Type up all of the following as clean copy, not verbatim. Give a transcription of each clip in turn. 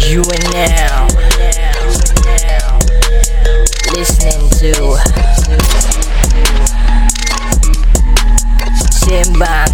You are now listening to Sembang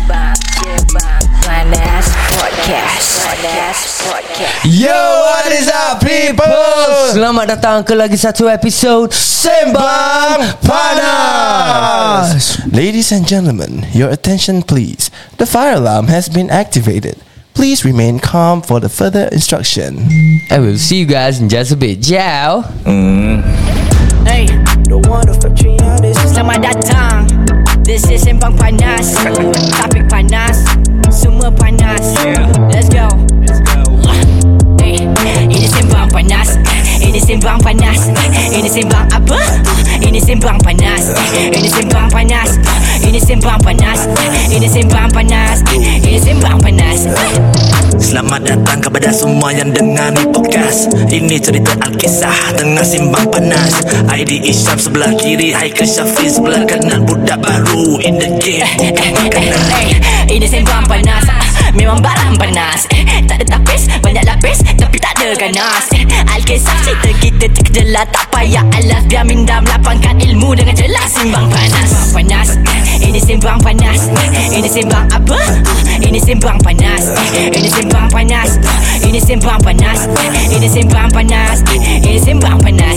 Panas Podcast. Yo, what is up people? Selamat datang ke lagi satu episod Sembang Panas. Ladies and gentlemen, your attention please. The fire alarm has been activated. Please remain calm for the further instruction. I will see you guys in just a bit. Ciao. Hey, selamat datang. This is Sembang Panas. Topik panas, semua panas. Let's go. Hey, ini Sembang Panas. Ini Sembang Panas. Ini Sembang apa? Ini Sembang Panas. Ini Sembang Panas. Ini Sembang Panas. Ini Sembang Panas. Ini Sembang Panas. Selamat datang kepada semua yang dengar ni podcast. Ini cerita Alkisah tengah Sembang Panas. ID Isyam sebelah kiri, Haikal Syafiq sebelah kanan. Budak baru in the game, ini Sembang Panas. Memang barang panas. Tak ada tapis, banyak lapis, tapi tak ada ganas. Alkisah cerita kita terkejelah, tak payah alas. Biar minda melapangkan ilmu dengan jelas. Sembang Panas. Panas. Ini Sembang Panas. Ini Sembang apa? Ini Sembang Panas. Ini Sembang Panas. Ini Sembang Panas. Ini Sembang Panas. Ini Sembang Panas.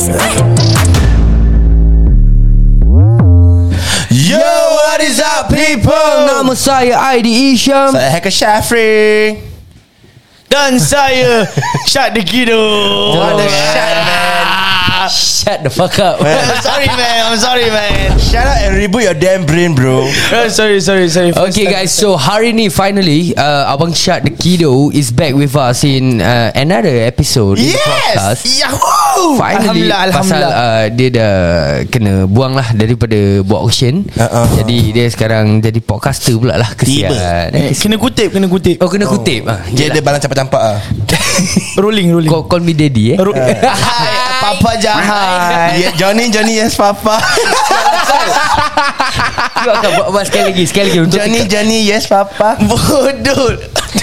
Yo, what is up people? Nama saya ID Isyam. Saya Haikal Syafiq. Dan saya Syad Dekido. What a shot, man. Shut the fuck up. I'm sorry man. Shut up and reboot your damn brain, bro. Sorry. Okay guys, so hari ni finally Abang Syad Dekido is back with us in another episode in the podcast. Yahoo! Finally, pasal dia dah kena buang lah daripada buat auction. Jadi dia sekarang jadi podcaster pula lah. Kesian. Kena kutip. Oh, kena kutip. Dia ada balang campak-campak Rolling. Call me daddy Papa jahat. Yeah, Johnny, yes papa. You akan buat sekali lagi untuk Johnny, yes papa. Bodoh.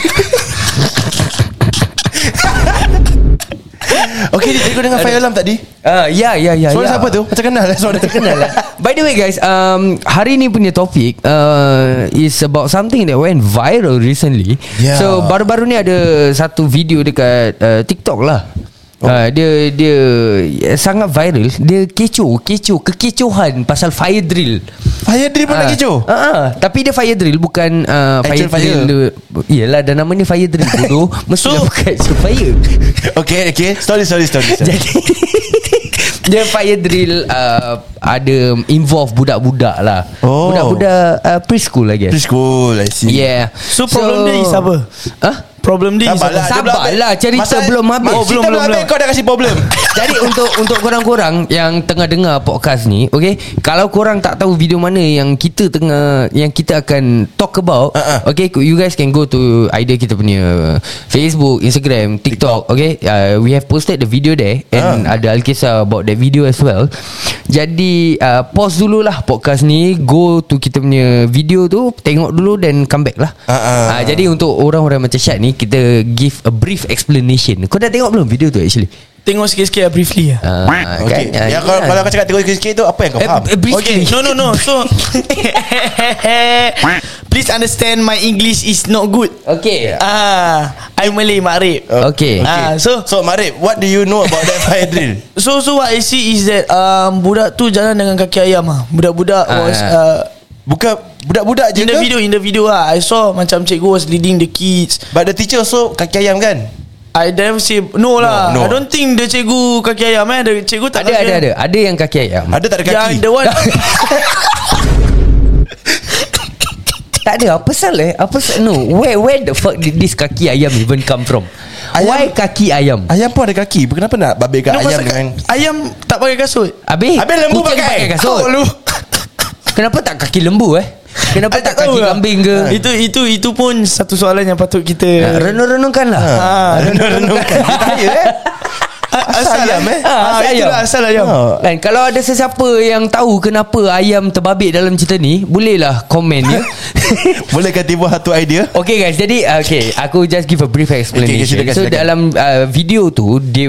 Okay, dia tengok dengan fire alarm tadi. Ya. Suara siapa tu? Macam kenal lah. Suara terkenal lah. By the way guys, hari ni punya topik is about something that went viral recently. Yeah. So baru-baru ni ada satu video dekat TikTok lah. Dia sangat viral. Dia kekecohan pasal fire drill. Fire drill pun nak kecoh? Tapi dia fire drill, bukan fire Actual fire. drill. Yelah, dah namanya fire drill bodoh. Mestilah bukan fire. Okay. Story. Jadi dia fire drill ada involve budak-budak lah. Budak-budak preschool I guess. Preschool, I see. Yeah. So problem dia is apa? Problem dia is apa? Sabarlah, cerita belum habis. Belum habis kau dah kasih problem. Jadi untuk korang-korang yang tengah dengar podcast ni, okay, kalau korang tak tahu video mana yang kita akan talk about, okay, you guys can go to either kita punya Facebook, Instagram, TikTok. Okay, we have posted the video there and ada Alkisah about that video as well. Jadi pause dululah podcast ni, go to kita punya video tu, tengok dulu dan come back lah. Jadi untuk orang-orang macam Syad ni, kita give a brief explanation. Kau dah tengok belum video tu actually? Tengok sikit-sikit lah, briefly lah. Okay. Kalau kau cakap tengok sikit tu, apa yang kau faham? Okay, no. So please understand my English is not good. Okay. I'm Malay, Makrib. Okay. So Makrib, what do you know about that fire drill? So what I see is that budak tu jalan dengan kaki ayam lah. Budak-budak was Bukan budak-budak je in the video lah, I saw macam cikgu was leading the kids. But the teacher also kaki ayam kan? I never say no lah. No. I don't think the cikgu kaki ayam. The cikgu tak Ada yang kaki ayam. Ada tak ada kaki? Yang the one Tak ada. Apa salah? No. Where the fuck did this kaki ayam even come from? Why kaki ayam? Ayam pun ada kaki. Kenapa nak babitkan ayam dengan ayam tak pakai kasut? Habis lembu kucing pakai kasut. Kenapa tak kaki lembu Kenapa tak kaki kambing ke? Itu pun satu soalan yang patut kita renung-renungkan lah. Renung-renungkan. Saya Asal ayam, itulah asal ayam. Kan kalau ada sesiapa yang tahu kenapa ayam terbabit dalam cerita ni, bolehlah komen ya. Bolehkah tiba satu idea? Okay guys, jadi aku just give a brief explanation. Okay, So silakan. dalam video tu dia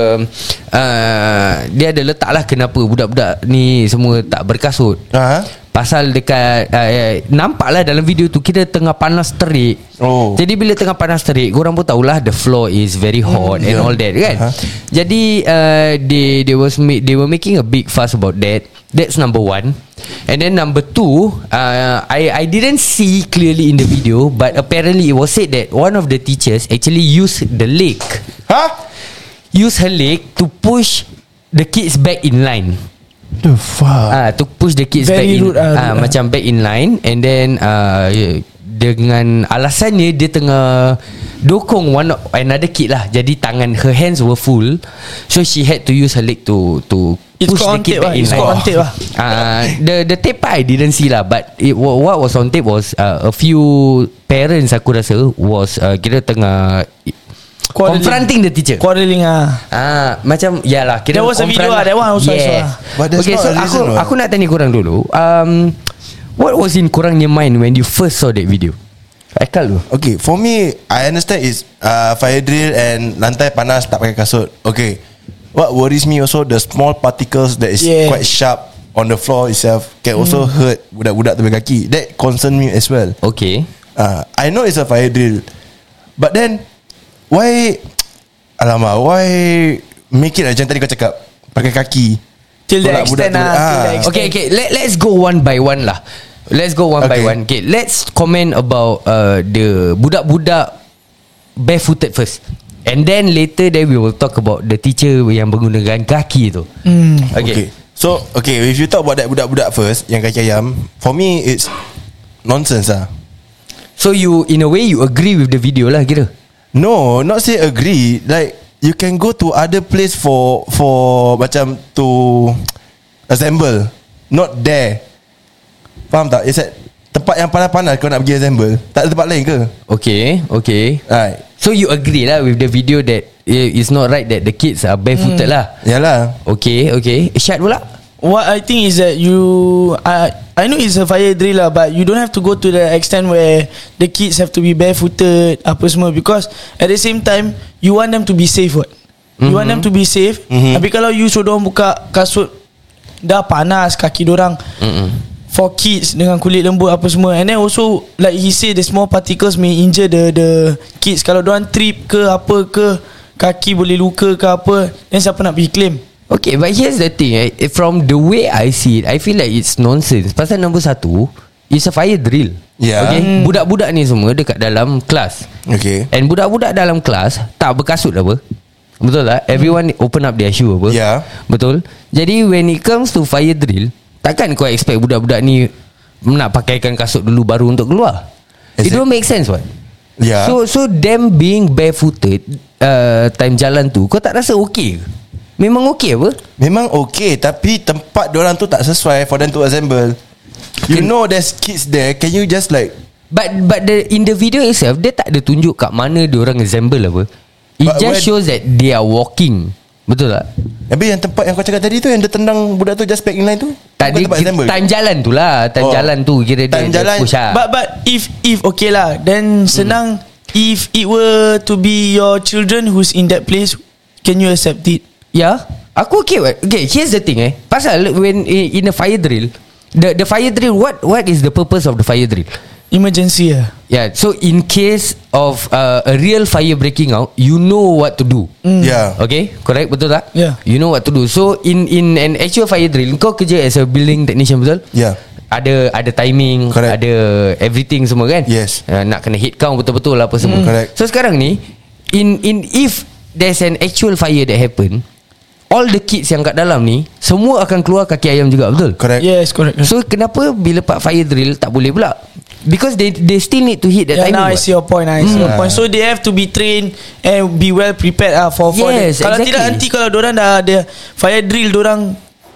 ada letak lah kenapa budak-budak ni semua tak berkasut. Pasal dekat nampaklah dalam video tu kita tengah panas terik. Jadi bila tengah panas terik, korang pun tahulah the floor is very hot and all that kan. Jadi they were making a big fuss about that. That's number one. And then number two, I didn't see clearly in the video, but apparently it was said that one of the teachers actually used the leg. Use her leg to push the kids back in line. The fuck? To push the kids Very back in rude, macam back in line. And then dengan alasannya dia tengah dokong another kid lah. Jadi her hands were full, so she had to use her leg to push the kid back in line. On tape lah. The tape I didn't see lah, but what was on tape was a few parents aku rasa was kira tengah confronting the teacher. Quarreling macam yalah kira there was a video that one also. But that's Okay, not so a reason, aku nak tanya korang dulu. What was in korangnya mind when you first saw that video? Aikal tu. Okay, for me, I understand is fire drill and lantai panas tak pakai kasut. Okay, what worries me also the small particles that is quite sharp on the floor itself can also hurt budak-budak tepi kaki. That concern me as well. Okay. I know it's a fire drill, but then why make it macam tadi kau cakap pakai kaki till the extent Okay, let's go one by one lah. Let's go one by one. Okay, let's comment about the budak-budak barefooted first, and then later we will talk about the teacher yang menggunakan kaki tu. Okay. So if you talk about that budak-budak first yang kaki ayam, for me it's nonsense lah. So you in a way you agree with the video lah kira? No, not say agree. Like you can go to other place for macam to assemble, not there. Faham tak? It's at tempat yang panas-panas kau nak pergi assemble. Tak ada tempat lain ke? Okay. Right. So you agree lah with the video that it's not right that the kids are barefooted lah. Yalah. Okay. Syad pula? What I think is that I know it's a fire drill lah, but you don't have to go to the extent where the kids have to be barefooted apa semua, because at the same time you want them to be safe. You want them to be safe. Tapi kalau you suruh dorang buka kasut dah panas kaki dorang for kids dengan kulit lembut apa semua, and then also like he say the small particles may injure the kids. Kalau dorang trip ke apa ke, kaki boleh luka ke apa, then siapa nak pergi claim? Okay, but here's the thing, from the way I see it, I feel like it's nonsense. Pasal nombor satu, it's a fire drill. Okay, budak-budak ni semua dekat dalam kelas. Okay. And budak-budak dalam kelas tak berkasut apa. Betul tak? Everyone open up their shoe apa. Betul. Jadi when it comes to fire drill, takkan kau expect budak-budak ni nak pakaikan kasut dulu baru untuk keluar. It don't make sense what? So them being barefooted time jalan tu, kau tak rasa okay ke? Memang okay apa? Memang okay, tapi tempat diorang tu tak sesuai for them to assemble. You know there's kids there. Can you just like But in the video itself, dia tak ada tunjuk kat mana diorang assemble apa. It just shows that they are walking. Betul tak? Tapi yang tempat yang kau cakap tadi tu, yang dia tendang budak tu just back in line tu, tadi time jalan tu lah. Time jalan tu kira time dia jalan, push lah. But if okay lah, then senang. If it were to be your children who's in that place, can you accept it? Yeah, aku okay. Okay, here's the thing pasal when in a fire drill, the fire drill, what is the purpose of the fire drill? Emergency Yeah, so in case of a real fire breaking out, you know what to do. Yeah. Okay, correct, betul tak? Yeah. You know what to do. So in an actual fire drill, kau kerja as a building technician, betul? Yeah. Ada timing, correct. Ada everything semua kan? Yes. Nak kena hit count betul-betul apa semua. Correct. So sekarang ni, if there's an actual fire that happen, all the kids yang kat dalam ni semua akan keluar kaki ayam juga, betul? Correct. Yes, correct. So kenapa bila part fire drill tak boleh pula? Because they still need to hit that timing. Now I see your point. So they have to be trained and be well prepared for yes, kalau exactly. Tidak nanti kalau dorang dah ada fire drill, dorang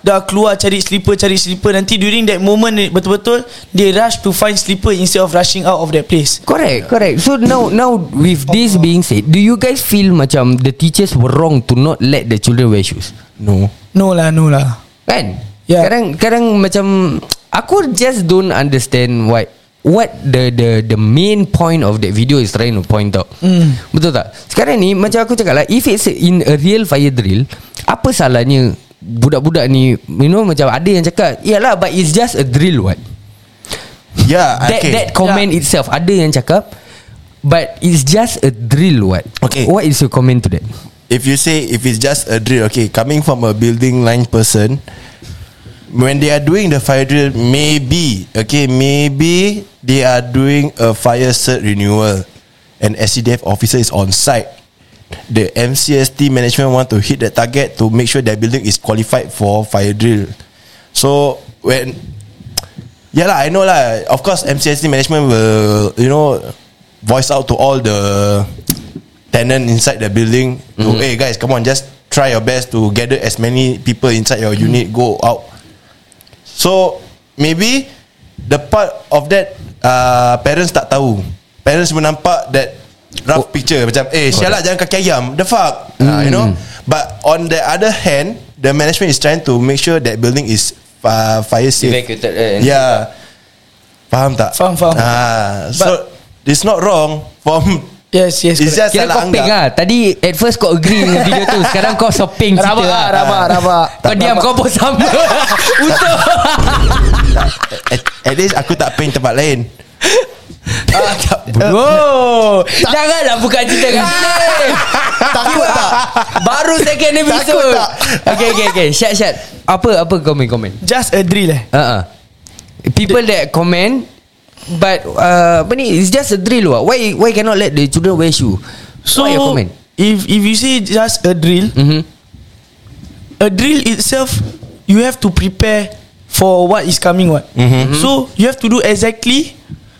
dah keluar cari slipper, nanti during that moment betul-betul they rush to find slipper instead of rushing out of that place. Correct. So now with this being said, do you guys feel macam the teachers were wrong to not let the children wear shoes? No lah Kan? Yeah. Kadang macam aku just don't understand what the main point of that video is trying to point out. Betul tak? Sekarang ni macam aku cakap lah, if it's in a real fire drill, apa salahnya budak-budak ni, you know, macam ada yang cakap yalah, but it's just a drill what. Yeah, that comment itself, ada yang cakap but it's just a drill what. Okay. What is your comment to that? If you say if it's just a drill, okay, coming from a building line person, when they are doing the fire drill, maybe they are doing a fire cert renewal and SCDF officer is on site. The MCST management want to hit the target to make sure that building is qualified for fire drill. So when I know lah, of course MCST management will, you know, voice out to all the tenant inside the building to, hey guys, come on, just try your best to gather as many people inside your unit, go out. So maybe the part of that parents tak tahu. Parents menampak that rough picture macam syalat jangan kaki ayam, the fuck, you know. But on the other hand, the management is trying to make sure that building is fire safe, Evacuated. Yeah. Faham tak? Faham. So it's not wrong from Yes, it's just Kira salah kau ping anggap. lah. Tadi at first kau agree dengan video tu, sekarang kau shopping cerita lah. Rabak. Kau diam, kau pun sama. Untuk At least aku tak ping tempat lain. Bro, janganlah buka cerita kat sini. Takut tak? Baru second episode. Okay. Syat. Apa komen? Just a drill People that comment, but apa ni, it's just a drill what. Why cannot let the children wear shoe? So what your comment? If you say just a drill, a drill itself, you have to prepare for what is coming what. So you have to do exactly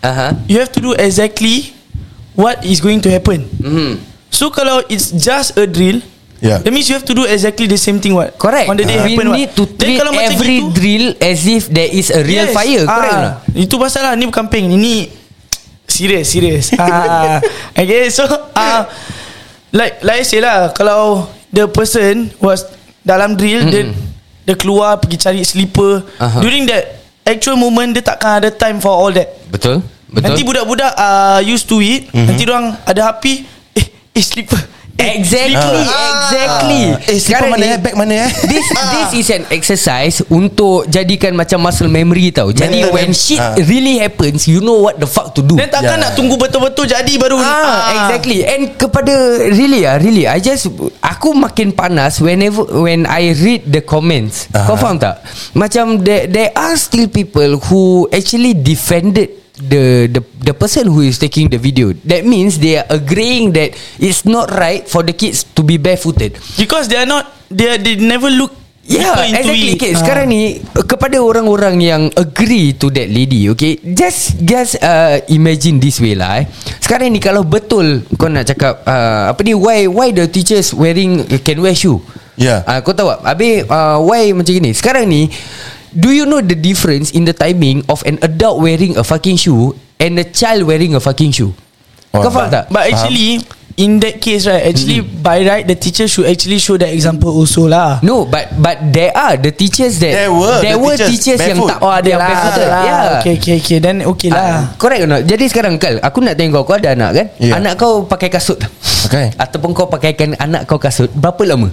what is going to happen. So kalau it's just a drill, that means you have to do exactly the same thing what. Correct. On the day We happen need what. to treat every drill as if there is a real fire. Correct or not? Itu pasal lah, ni bukan peng, ini serious. Okay, so like I say lah, kalau the person was dalam drill, dia keluar pergi cari slipper, during that actual moment dia takkan ada time for all that. Betul. Nanti budak-budak used to it, nanti diorang ada api, slipper. Exactly. Sekarang mana bag mana This is an exercise untuk jadikan macam muscle memory tau. Jadi Mental when shit really happens, you know what the fuck to do. Dan takkan nak tunggu betul-betul jadi baru Exactly. And kepada really aku makin panas when I read the comments. Kau faham tak? Macam there are still people who actually defended the person who is taking the video. That means they are agreeing that it's not right for the kids to be barefooted because they never look Yeah, exactly. Okay, sekarang ni kepada orang-orang yang agree to that lady, okay, just imagine this way lah. Sekarang ni kalau betul kau nak cakap apa ni, why the teachers can wear shoe? Yeah. Kau tahu tak? Habis why macam ni? Sekarang ni, do you know the difference in the timing of an adult wearing a fucking shoe and a child wearing a fucking shoe? Kau faham tak? But actually, in that case, right, actually by right the teacher should actually show that example also lah. No, but there are the teachers that there were teachers yang tak yang barefooted. Yeah. Okay, then okay lah. Correct or not? Jadi sekarang Kal, aku nak tengok kau ada anak kan? Yeah. Anak kau pakai kasut. Okay. Ataupun kau pakaikan anak kau kasut, berapa lama?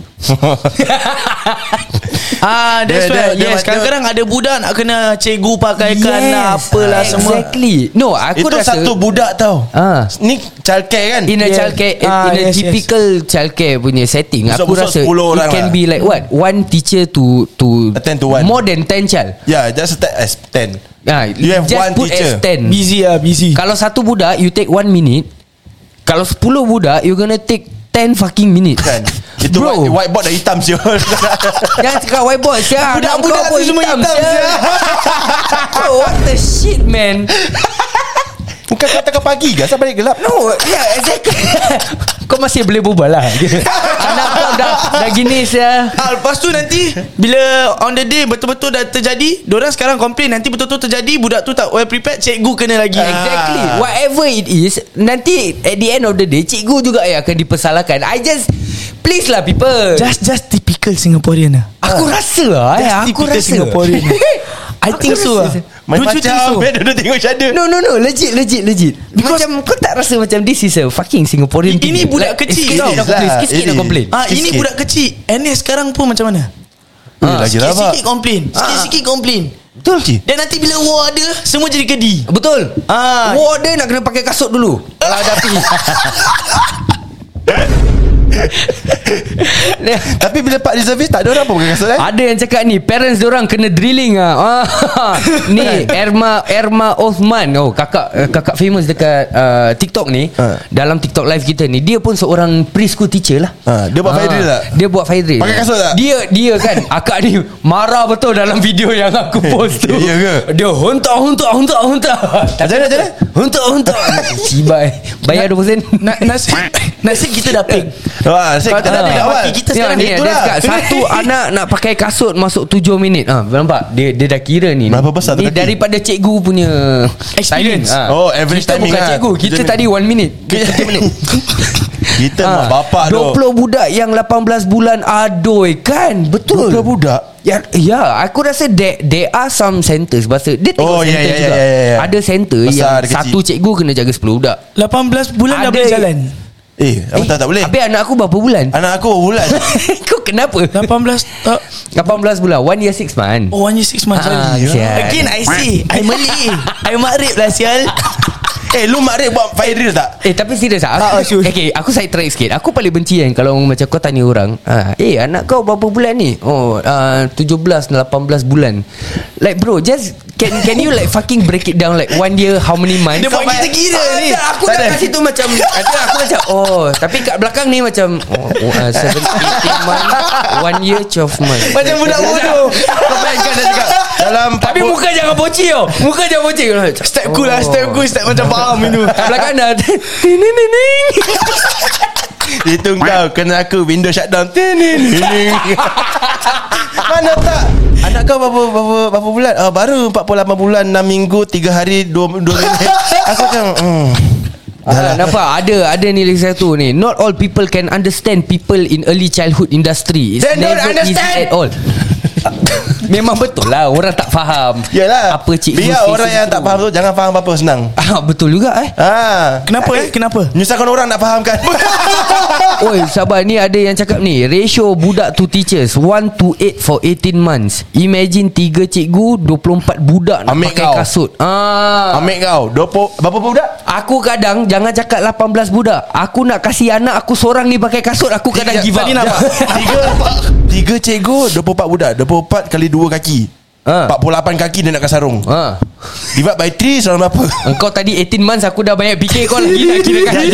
That's right. Yes, kadang-kadang ada budak nak kena cikgu pakaikan lah, apalah semua. Exactly. No, aku itu rasa satu budak tau. Ni childcare kan? In a childcare, in a typical childcare punya setting, aku rasa it can be like what, one teacher to attend to one, more than 10 child. Yeah, just as 10. You have just one put teacher. as 10. Busy. Kalau satu budak you take 1 minute, kalau 10 budak you gonna take 10 fucking minutes Kan? Itu bro, whiteboard dah hitam siul. jangan cakap whiteboard siap. Budak-budak tu semua hitam siap. Bro, what the shit man. Bukan kau tengah pagi ke? Asal balik gelap? No, yeah, exactly. Kau masih boleh berbual lah. Anak kau dah gini saya. Lepas tu nanti bila on the day betul-betul dah terjadi, diorang sekarang complain, nanti betul-betul terjadi, budak tu tak well prepared, cikgu kena lagi. Exactly. Whatever it is, nanti at the end of the day cikgu juga yang akan dipersalahkan. Please lah people. Just typical Singaporean lah. Aku rasa lah aku typical rasa Singaporean. I think so lah. Main Don't you think so? macam duduk tengok each other. No legit Because macam kau tak rasa macam this is a fucking Singaporean thing. Ini budak kecil tau. Sikit nak complain. Ini budak kecil. NS sekarang pun macam mana? Lagi rabak. Sikit-sikit complain. Sikit-sikit complain. Betul. Dan nanti bila war ada, semua jadi kedi. Betul. War dia nak kena pakai kasut dulu. Kalau ada api. Tapi bila Pak reservis tak ada orang pun pakai kasut Ada yang cakap ni parents diorang kena drilling Ni Erma Osman. Kakak famous dekat TikTok ni. Dalam TikTok live kita ni, dia pun seorang preschool teacher lah. Dia buat fire drill tak? Dia buat fire drill. Pakai kasut tak? Dia kan akak ni marah betul dalam video yang aku post tu. Ya ke? Dia huntak. Macam mana? Huntak. Cibai. Bayar 20 sen. Nasib kita dah ping. Nasib kita dah ping awal. Kita Ya, sekarang ni dia cakap satu anak nak pakai kasut masuk 7 minit. Nampak? Dia dah kira ni. Berapa besar tu ni kaki? daripada cikgu punya Experience. Average kita timing bukan lah. cikgu. Kita tadi 1 minit. 3 minit. Kita mak bapak tu 20 budak yang 18 bulan adoi kan. Betul. 20 budak. Ya, aku rasa there are some centers. Bahasa dia tengok center juga. ya. Ada center Besar, yang kecil. satu cikgu kena jaga 10 budak. 18 bulan dah Ada- boleh jalan. Apa tak boleh? Habis anak aku berapa bulan? Anak aku bulan. Kau kenapa? 18 18 bulan 1 year 6 months. Oh 1 year 6 months. sial. Again I see I Malay I makrib lah sial. Lu makrib buat fire drill tak? Tapi serius lah sure. Okay, aku side track sikit. Aku paling benci kan kalau macam kau tanya orang, anak kau berapa bulan ni? 17 18 bulan. Like bro, just Can you like fucking break it down like 1 year how many months? Dia buat kita kira ni. Aku dah kasi tu macam aku macam tapi kat belakang ni macam 17 18 months 1 year 12 months. Macam budak bodoh. Kau bayangkan dah cakap Dalam tapi muka jangan bocil tau. Muka jangan bocil. Step cool lah. Step cool. Step macam faham itu. Belakang dah itu kau kena aku window shutdown. Mana tak? Anak kau berapa bulan? Baru 48 bulan 6 minggu 3 hari 2 minit. Aku macam nampak ada ni lagi satu ni. Not all people can understand people in early childhood industry. It's They don't never easy understand. at all. Memang betul lah, orang tak faham. Yalah. Apa cikgu biar orang season yang tak tu. faham tu jangan faham apa-apa, senang. Betul juga Kenapa Kenapa? Menyusahkan orang nak fahamkan. Oi, sabar, ni ada yang cakap ni, ratio budak to teachers 1 to 8 for 18 months. Imagine 3 cikgu 24 budak nak Ambil pakai kau. kasut. Ambil kau 20 berapa budak? Aku kadang jangan cakap 18 budak. Aku nak kasih anak aku seorang ni pakai kasut, aku kadang give up. Tadi nampak 3 cikgu 24 budak. 24 kali 2 kaki 48 kaki dia nak sarung. Divide by 3 selama berapa? Engkau tadi 18 months, aku dah banyak fikir kau lagi nak kira kali.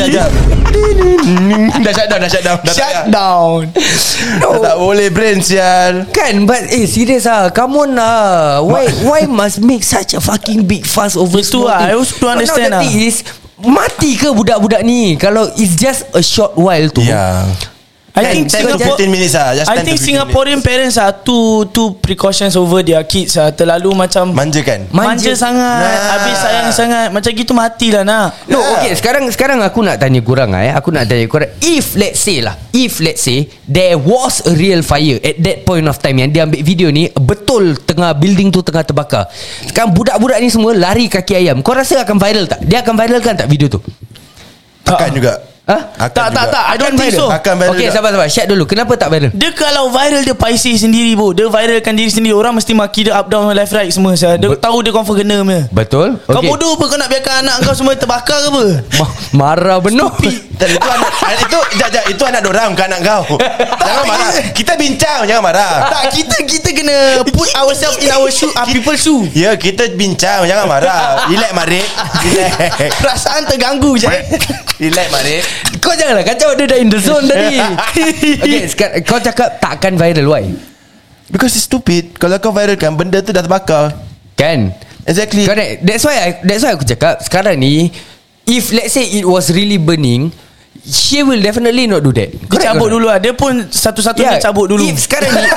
Dah shutdown. Shut down. Tak boleh brain sial. Kan, but serious come on lah. Why must make such a fucking big fuss over Itu small lah, thing? I also don't But understand now the lah. thing is, mati ke budak-budak ni kalau it's just a short while tu? Ya. I think 10 to 15 minutes lah. Just 10 I to think 15 Singaporean parents are too precautions over their kids terlalu macam Manja kan? manja sangat. Nah. Habis sayang sangat. Macam gitu matilah nak. No, okay. Sekarang aku nak tanya korang Aku nak tanya korang, if let's say there was a real fire at that point of time, yang dia ambil video ni betul tengah building tu tengah terbakar. Sekarang budak-budak ni semua lari kaki ayam. Kau rasa akan viral tak? Dia akan viralkan tak video tu? Akan juga. Tak. I don't think so. Akan viral Okay, juga. sabar. Share dulu. Kenapa tak viral? Dia kalau viral dia paisi sendiri bro. Dia viralkan diri sendiri. Orang mesti maki dia up down left right semua. Dia tahu dia confirm kena punya. Betul? Kau bodoh apa? Kau nak biarkan anak kau semua terbakar ke apa? Marah benar. Dan itu anak dorang, bukan anak kau. Jangan marah. Kita bincang, jangan marah. Tak, kita kena put ourselves in our shoe, people's shoe. Ya, kita bincang, jangan marah. Relax Marik. Relax. Perasaan terganggu je. Relax Marik. Kau janganlah kacau, dia dah in the zone tadi. Okay, sekarang kau cakap takkan viral. Why? Because it's stupid. Kalau kau viralkan, benda tu dah terbakar. Kan? Exactly. Correct. That's why aku cakap sekarang ni, if let's say it was really burning, she will definitely not do that. Dia cabut dulu lah. Dia pun satu-satunya cabut dulu. If sekarang ni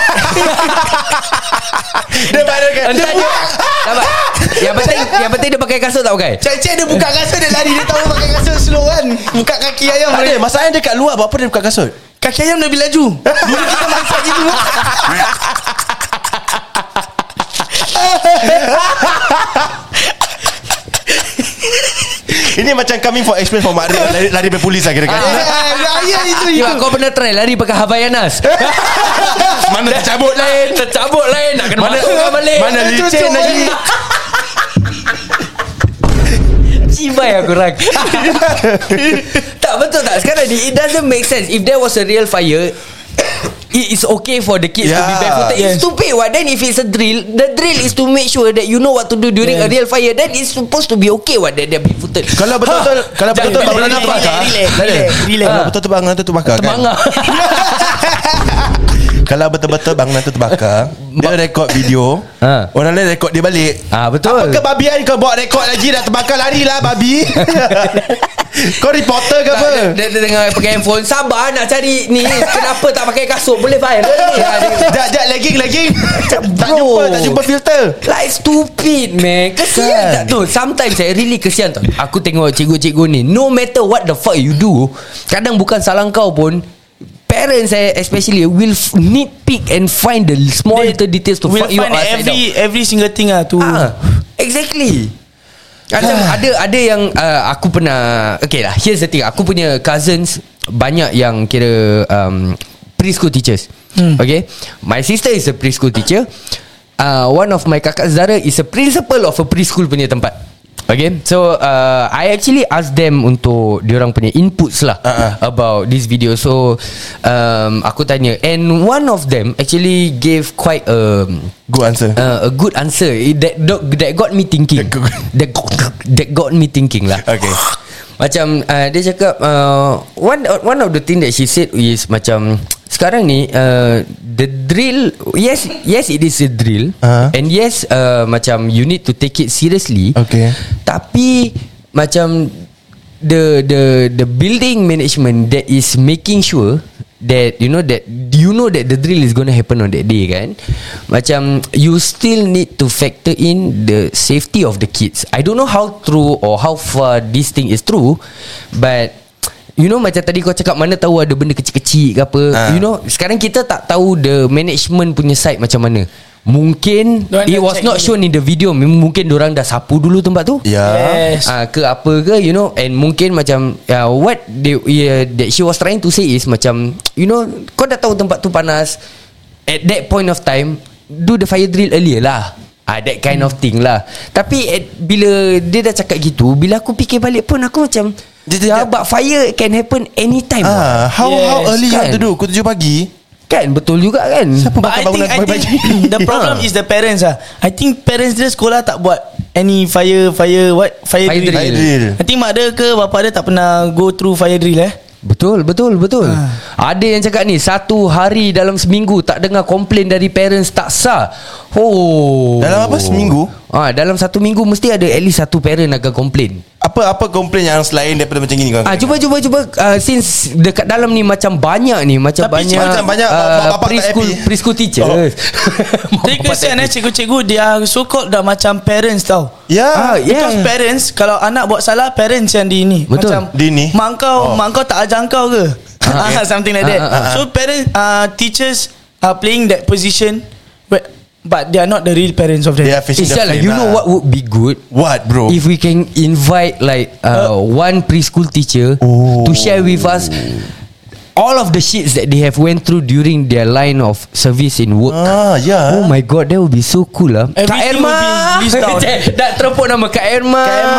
Dia barukan. Yang penting dia pakai kasut tak pakai. Cek dia buka kasut, dia lari. Dia tahu pakai kasut slow kan. Buka kaki ayam. Tak ada, masalahnya dia kat luar. Apa dia buka kasut? Kaki ayam lebih laju. Dulu kita masak gitu. Ini macam coming for experience for Mak Ria. Lari dari polis lah kira-kira. Ya itu. Kau pernah try lari pakai Havaianas? Mana tercabut lain. Nak kena masukkan balik. Mana licin lagi. Cibai aku orang. Tak betul tak? Sekarang ni it doesn't make sense. If there was a real fire, it is okay for the kids to be barefooted. It's stupid. What then if it's a drill? The drill is to make sure that you know what to do during a real fire. Then it's supposed to be okay. What that they're barefooted. Kalau betul-betul bangunan tu bakar. Kalau betul-betul bangunan tu bakar kan. Kalau betul-betul bangunan tu terbakar, dia rekod video, orang lain rekod dia balik. Betul. Apa kebabian kau buat rekod lagi? Dah terbakar, larilah babi. Kau reporter ke apa? Dia tengah pakai handphone. Sabar nak cari ni. Kenapa tak pakai kasut? Boleh viral ni. Sekejap legging. Tak jumpa filter. Like stupid man. Kesian tak tu. Sometimes saya really kesian tau. Aku tengok cikgu-cikgu ni, no matter what the fuck you do, kadang bukan salah kau pun, parents especially will nitpick and find the small little details to fuck you up. Every single thing tu. Exactly. Ada yang aku pernah. Okay lah, here's the thing. Aku punya cousins banyak yang kira preschool teachers. Okay, my sister is a preschool teacher. One of my kakak saudara is a principal of a preschool punya tempat. Okay, so I actually asked them untuk diorang punya inputs lah about this video. So aku tanya, and one of them actually gave quite a good answer. A good answer that got me thinking. That got me thinking lah. Okay. Macam dia cakap one of the thing that she said is macam sekarang ni the drill, yes it is a drill, and yes macam you need to take it seriously. Okay. Tapi macam the building management that is making sure that you know that the drill is going to happen on that day kan, macam you still need to factor in the safety of the kids. I don't know how true or how far this thing is true, but you know macam tadi kau cakap, mana tahu ada benda kecil-kecil ke apa. You know sekarang kita tak tahu the management punya side macam mana. Mungkin it was not shown in the video. Mungkin diorang dah sapu dulu tempat tu. Yes. Ke apa ke, you know. And mungkin macam what that she was trying to say is macam, you know, kau dah tahu tempat tu panas, at that point of time do the fire drill earlier lah. That kind of thing lah. Tapi bila dia dah cakap gitu, bila aku fikir balik pun aku macam, but fire can happen anytime. How early you have to do? Pukul 7 pagi. Kan betul juga kan. Siapa But I think the problem is the parents I think parents dia sekolah tak buat any fire drill. I think mak dia ke bapa dia tak pernah go through fire drill. Betul. Ada yang cakap ni, satu hari dalam seminggu tak dengar komplain dari parents tak sah. Dalam apa seminggu? Dalam satu minggu mesti ada at least satu parent akan komplain. Apa komplain yang selain daripada macam gini kau? Cuba since dekat dalam ni macam banyak ni, macam banyak preschool teachers. Tapi kesian cikgu-cikgu dia so called dah macam parents tau. Because parents, kalau anak buat salah, parents yang di ni. Betul. Macam mak kau tak ajar kau ke? Something like that. So parents, teachers are playing that position, but they are not the real parents of them. It's like, you know what would be good? What, bro? If we can invite like one preschool teacher to share with us all of the shits that they have went through during their line of service in work. Oh my god, that would be so cool lah. Kak Erma dah terpuk nama Kak Erma.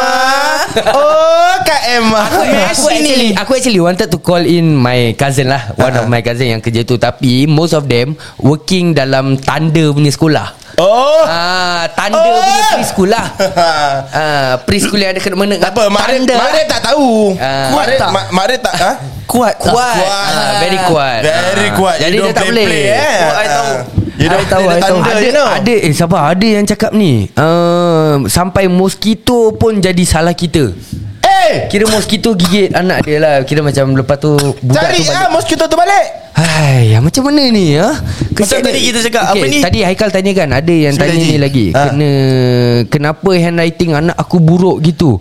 Kak Erma. Aku actually wanted to call in my cousin lah, one of my cousin yang kerja tu, tapi most of them working dalam tanda punya sekolah. Tanda punya preschool lah. Preschool yang ada kena mana. Apa? Mak tak tahu. Mak tak Kuat. Very kuat. Jadi dia tak boleh. I tahu. Ada sabar, ada yang cakap ni sampai mosquito pun jadi salah kita. Kira mosquito gigit anak dia lah. Kira macam lepas tu budak Cari tu balik. mosquito tu balik. Hai, macam mana ni ya? Macam tadi kita cakap, apa ni? Tadi Haikal tanya kan, ada yang Sudah tanya ni lagi. Kenapa handwriting anak aku buruk gitu?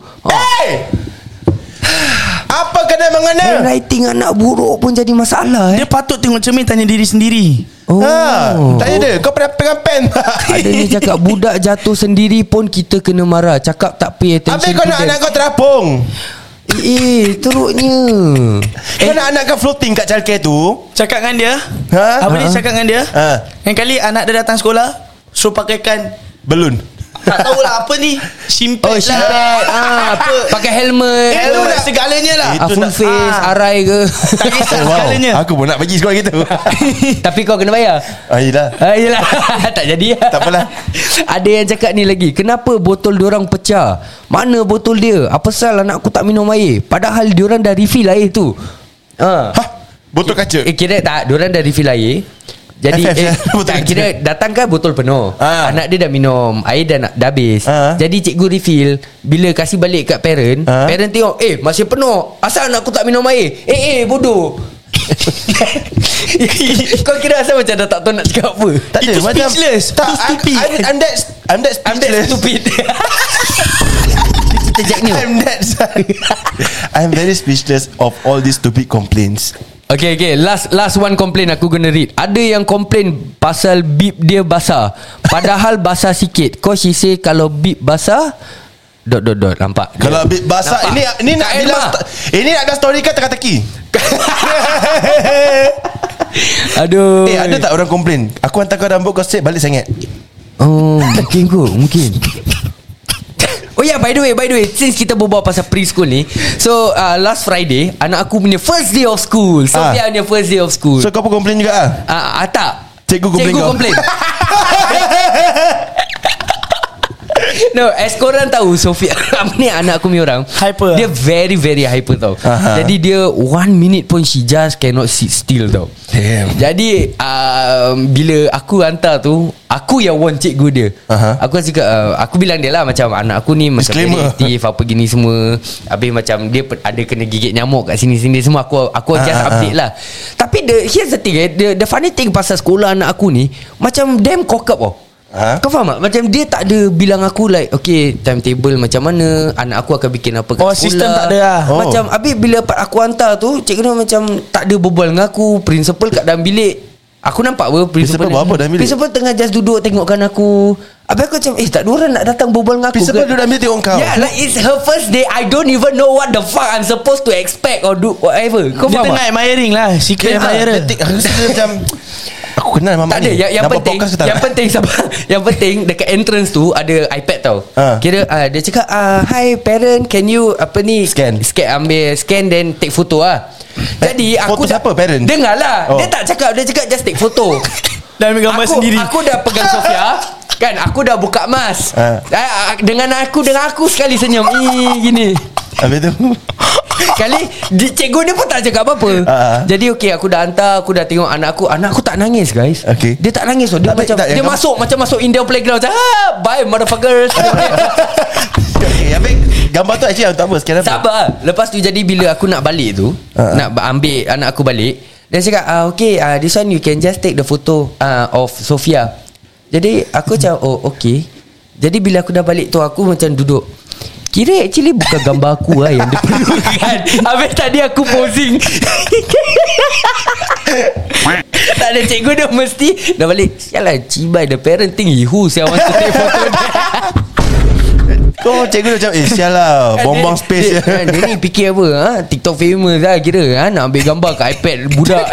Apa kena mengena? Handwriting anak buruk pun jadi masalah Dia patut tengok cermin, tanya diri sendiri. Tanya dia, kau pernah pegang pen tak? Ada ni cakap budak jatuh sendiri pun kita kena marah. Cakap tak pay attention. Habis kau nak to them. anak kau terapung. Teruknya. Kau nak anak kau floating kat childcare tu. Cakap dengan dia. Ha? Apa dia cakap dengan dia? Yang kali anak dia datang sekolah, suruh pakaikan Belun. tak tahulah apa ni, simpet Apa pakai helmet. Itu nak segalanya lah. Full face, arai ke. Tak kisah segalanya. Aku pun nak pergi sekolah gitu. Tapi kau kena bayar. Yelah. Yelah. Tak jadi. Tak apalah. Ada yang cakap ni lagi, kenapa botol diorang pecah? Mana botol dia? Apa sal anak aku tak minum air? Padahal diorang dah refill air tu. Botol kaca. Kira tak, diorang dah refill air. Jadi tak, kira datang kan botol penuh. Anak dia dah minum, air dah habis. Jadi cikgu refill. Bila kasih balik kat parent, parent tengok, masih penuh. Asal anak aku tak minum air? Bodoh. Kau kira asal macam dah tak tahu nak cakap apa? Tak ada, Itu macam speechless. Tak, Itu stupid. I'm that speechless. Stupid. Kita Jack Neo. I'm very speechless of all these stupid complaints. Okay, last one complain aku gonna read. Ada yang complain pasal bib dia basah, padahal basah sikit. Cause she say kalau bib basah nampak. Kalau bib basah, nampak. ini nak Tak bilang ini nak ada story kan teka-teki. Aduh. Ada tak orang complain, aku hantar kau rambut kau straight balik sangat? Mungkin. Oh yeah, by the way, since kita berbual pasal preschool ni, so last Friday anak aku punya first day of school. Sophia punya first day of school. So kau pun complain juga tak. Cikgu complain kau. No, as korang tahu Sophia ni anak aku punya orang Hyper. Dia very very hyper tau. Jadi dia 1 minute pun she just cannot sit still tau. Damn. Jadi bila aku hantar tu, aku yang warn cikgu dia. Aku cakap aku bilang dia lah macam anak aku ni macam very aktif apa gini semua. Habis macam dia ada kena gigit nyamuk kat sini-sini semua. Aku just update lah. Tapi here's the thing the funny thing pasal sekolah anak aku ni macam damn cock up tau. Kau faham tak? Macam dia tak ada bilang aku like, okay, timetable macam mana, anak aku akan bikin apa kat sekolah. Sistem tak ada lah. Macam habis bila aku hantar tu, cikgu dia macam tak ada berbual dengan aku. Principal kat dalam bilik, aku nampak apa Principal buat apa dalam bilik? Principal tengah just duduk tengokkan aku. Habis aku macam tak ada orang nak datang berbual dengan aku. Principal duduk dalam bilik tengok kau. Yeah, like it's her first day. I don't even know what the fuck I'm supposed to expect or do whatever. Kau Dia faham tengah tak? admiring lah, secret admirer. Aku rasa dia macam aku kenal mamak Tak ada. ni. Yang Nampak penting, podcast ke tak? yang penting sabar. Yang penting dekat entrance tu ada iPad tau. Kira dia cakap hi parent, can you scan then take photo lah. Jadi aku foto siapa, parent? Dengar lah. Dia tak cakap, dia cakap just take photo. Dan ambil gambar sendiri. Aku dah pegang Sophia. Kan aku dah buka mask. Dengan aku sekali senyum gini. Habis tu Kali cikgu dia pun tak cakap apa-apa. Jadi aku dah hantar, aku dah tengok anak aku tak nangis guys. Dia tak nangis. Dia macam dia masuk India playground. Bye motherfuckers. Habis gambar tu actually untuk apa? Sekian apa? Sabar. Lepas tu jadi bila aku nak balik tu, nak ambil anak aku balik, dia cakap this one you can just take the photo of Sophia. Jadi aku macam okay. Jadi bila aku dah balik tu, aku macam duduk, kira actually bukan gambar aku lah yang dia perlukan. Habis tadi aku posing. Tak ada, cikgu dia mesti dah balik. Sialah, cibai the parenting who saya want to take photo dia. Kau cikgu dia macam sial lah, bombong space dia ni fikir apa TikTok famous lah kira nak ambil gambar kat iPad budak.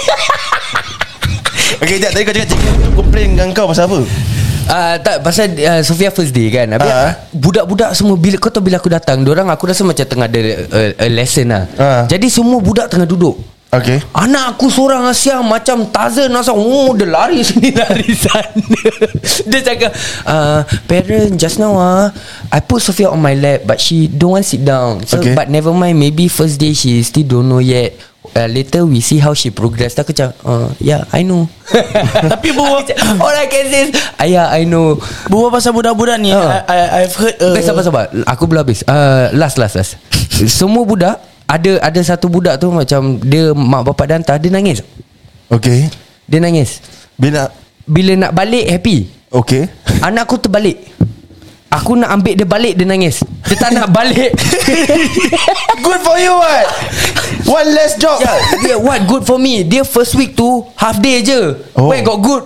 Okay, tadi kau cakap cikgu tu komplain dengan kau pasal apa? Tak, pasal Sophia first day kan. Habis budak-budak semua, bila kau tahu bila aku datang, diorang aku rasa macam tengah ada lesson lah. Jadi semua budak tengah duduk. Okay. Anak aku seorang Asia macam Tarzan asal. Dia lari sini lari sana. Dia cakap parent just now I put Sophia on my lap but she don't want sit down. So but never mind, maybe first day she still don't know yet. later we see how she progress. Aku macam yeah, I know. Tapi bawa all I can say is yeah, I know. bawa pasal budak-budak ni, I've heard Sabar aku belum habis. Last semua budak ada satu budak tu macam dia mak bapak dia hantar, dia nangis. Okay. Dia nangis bila nak balik happy. Okay. Anak aku terbalik. Aku nak ambil dia balik, dia nangis. Dia tak nak balik. Good for you, what? One less job. Yeah, what good for me? Dia first week tu half day je. Where got good?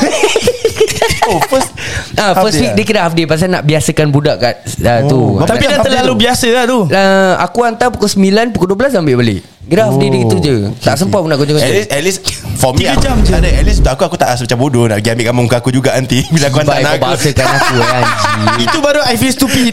First week dia kira half day pasal nak biasakan budak kat tu. Tapi dah terlalu biasa lah tu. Aku hantar pukul 9, pukul 12 ambil balik. Kira half day dia gitu je. Tak sempat pun nak kerja. At least for me 3 jam je. At least untuk aku tak rasa macam bodoh nak pergi ambil gambar muka aku juga nanti bila aku hantar anak aku. Bahasakan aku anjing. Itu baru I feel stupid.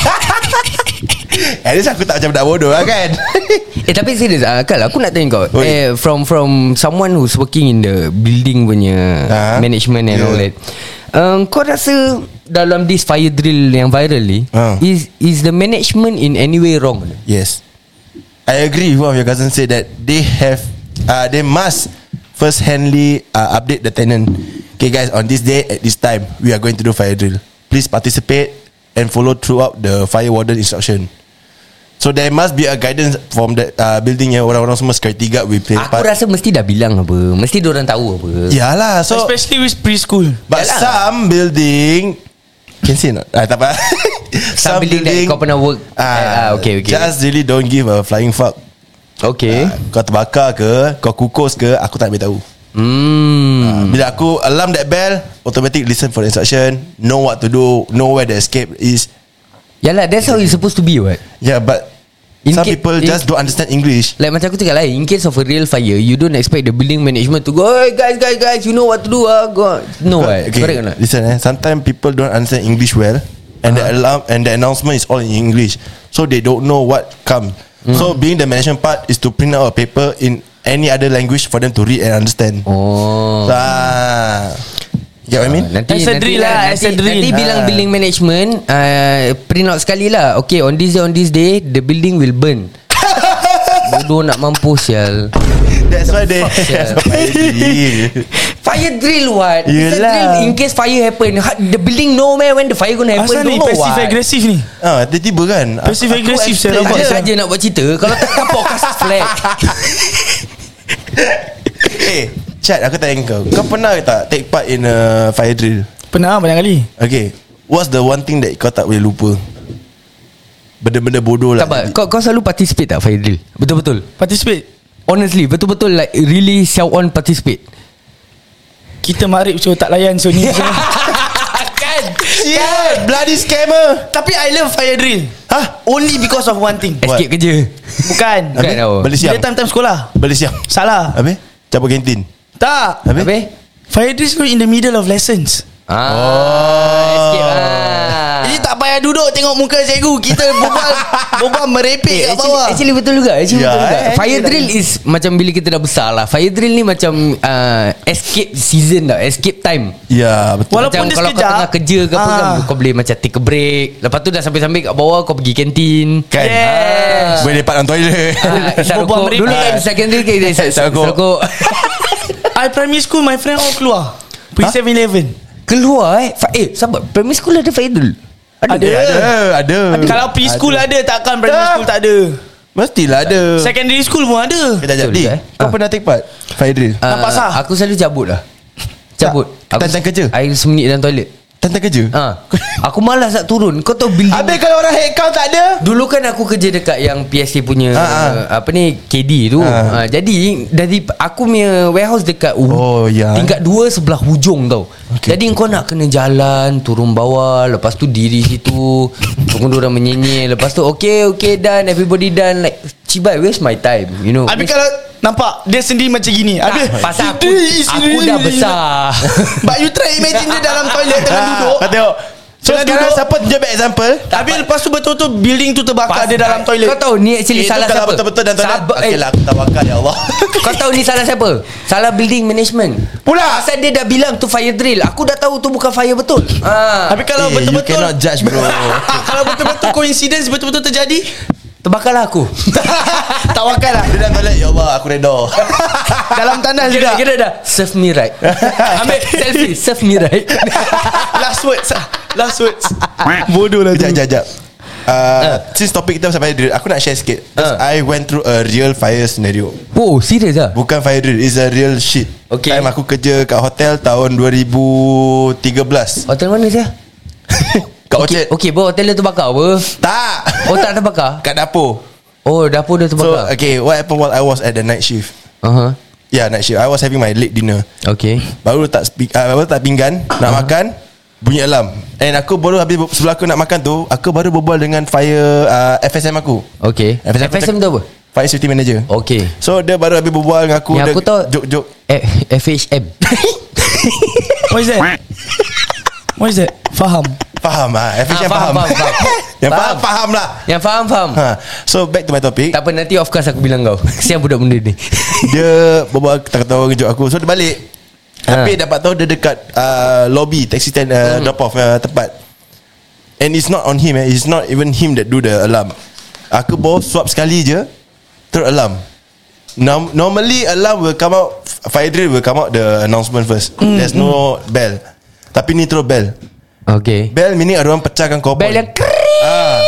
At least aku tak macam budak bodoh lah kan. Tapi serius Kal, aku nak tanya kau from someone who's working in the building punya management and all that, kau rasa dalam this fire drill yang viral ni, is the management in any way wrong? Yes, I agree with what your cousin said, that they must first-handly update the tenant. Okay guys, on this day at this time we are going to do fire drill. Please participate and follow throughout the fire warden instruction. So there must be a guidance from the building yang orang-orang semua security guard will play part. Aku rasa mesti dah bilang apa, mesti diorang tahu apa. Yalah, so especially with preschool. But yalah, some building can say not? Tak apa. Some building that kau pernah work okay. Just really don't give a flying fuck. Okay. Kau terbakar ke, kau kukus ke, aku tak boleh tahu. Bila aku alarm that bell, automatic listen for the instruction, know what to do, know where the escape is. Yalah, that's how it's supposed to be, what? Yeah, but some people just don't understand English. Like macam aku cakap lah, in case of a real fire, you don't expect the building management to go, hey guys, you know what to do, go. No, okay, correct or not? Listen, sometimes people don't understand English well, and the alarm and the announcement is all in English, so they don't know what come. So being the management part is to print out a paper in any other language for them to read and understand. Get what I mean? Nanti Nanti bilang building management print out sekali lah. Okay, on this day the building will burn. Bodoh nak mampus sial. That's why they fire drill what? It's a Yelah. drill in case fire happen. The building know man when the fire gonna happen. Asal ni passive agresif ni. tiba-tiba kan Passive agresif saya Aku nampak saja nak buat cerita. Kalau tak podcast flag. Chat, aku tanya kau pernah tak take part in a fire drill? Pernah banyak kali. Okay, what's the one thing that kau tak boleh lupa? Benda-benda bodoh lah. Tak apa, kau selalu participate tak fire drill? Betul-betul Participate. Honestly, betul-betul like really shout on participate. Kita marip so tak layan so ni. Kan? Yeah, bloody scammer. Tapi I love fire drill. Only because of one thing. Escape kerja. Bukan. Bukan tau. Balik siang. Dia time sekolah. Balik siang. Salah. Habis? Cabut kantin. Tak. Habis? Fire drill is in the middle of lessons. Escape Jadi tak payah duduk tengok muka cikgu. Kita berbual merepek kat bawah. Actually betul juga, betul juga. Fire actually drill is macam bila kita dah besar lah. Fire drill ni macam escape season tau, escape time. Ya, betul. Walaupun Macam dia kalau kau sekejap, tengah kerja ke apa kan, kau boleh macam take a break. Lepas tu dah sampai-sampai kat bawah, kau pergi kantin Kan? Yes. Boleh lepak dalam toilet. Isap Berbual rokok. Dulu merepek. kan secondary kita isap rokok. I primary school my friend all keluar. Pergi 7-Eleven. Keluar sabar, primary school ada fire drill? Ada. Kalau preschool ada, takkan primary school tak ada. Mestilah ada. Secondary school pun ada. Kejap, Betul, kau pernah take part fire drill? Nampak sah? Aku selalu cabut lah. Cabut. Tantang kerja? I sembunyi dalam toilet. Tantang kerja? Aku malas nak turun. Kau tahu building. Habis kalau orang head count tak ada? Dulu kan aku kerja dekat yang PSA punya apa ni, KD tu. Jadi dari aku punya warehouse dekat tingkat 2 sebelah hujung tau. Jadi kau nak kena jalan turun bawah, lepas tu diri situ, tunggu orang menyenyel, lepas tu okay done, everybody done, like cibai, waste my time, you know. Habis kalau nampak dia sendiri macam gini. Habis pasal aku dah besar. But you try imagine dia dalam toilet tengah duduk. Kau tengok. So Tengah sekarang duduk. siapa tunjuk back example? Habis lepas tu betul-betul building tu terbakar dia dalam toilet. Kau tahu ni actually salah kalau siapa? betul-betul dalam toilet. Sabar, Okay lah, aku tawakal ya Allah. Kau tahu ni salah siapa? Salah building management. Pula. Pasal dia dah bilang tu fire drill. Aku dah tahu tu bukan fire betul. Habis kalau You betul-betul cannot judge bro. kalau betul-betul coincidence betul-betul terjadi, Terbakarlah aku. Tawakal lah. Dia dah toilet, ya Allah aku redha. Dalam tandas juga. Kira dah serve me right. Ambil selfie, serve me right. Last words. Bodoh lah tu. Sekejap. Since topik kita sampai drill, aku nak share sikit. I went through a real fire scenario. Oh, serius ah? Bukan fire drill, it's a real shit. Okay. Time aku kerja kat hotel tahun 2013. Hotel mana saya? Kat Orchard. Okay, hotel dia terbakar apa? Tak. Oh, tak terbakar? Kat dapur. Oh, dapur dia So terbakar. okay, what happened while I was at the night shift? Yeah, night shift. I was having my late dinner. Okay. Baru tak pinggan, nak makan, bunyi alarm. And aku baru habis sebelum aku nak makan tu, aku baru berbual dengan fire FSM aku. Okay. FSM tu apa? Fire Safety Manager. Okay. So dia baru habis berbual dengan aku. Yang aku tahu Jok-jok. FHM. What is that? Faham. FSM faham. Yang faham lah. Yang faham. So back to my topic. Tak apa, nanti of course aku bilang kau. Kesian budak benda ni. Dia berbual ketawa-ketawa kejut aku. So dia balik. Tapi dapat tahu dia dekat lobby taxi stand drop off tempat. And it's not on him. It's not even him that do the alarm. Aku baru swap sekali je, terus alarm. Normally alarm will come out, fire drill will come out the announcement first. There's no bell. Tapi ni terus bell. Okay. Bell meaning ada orang pecahkan korban. Bell yang kering.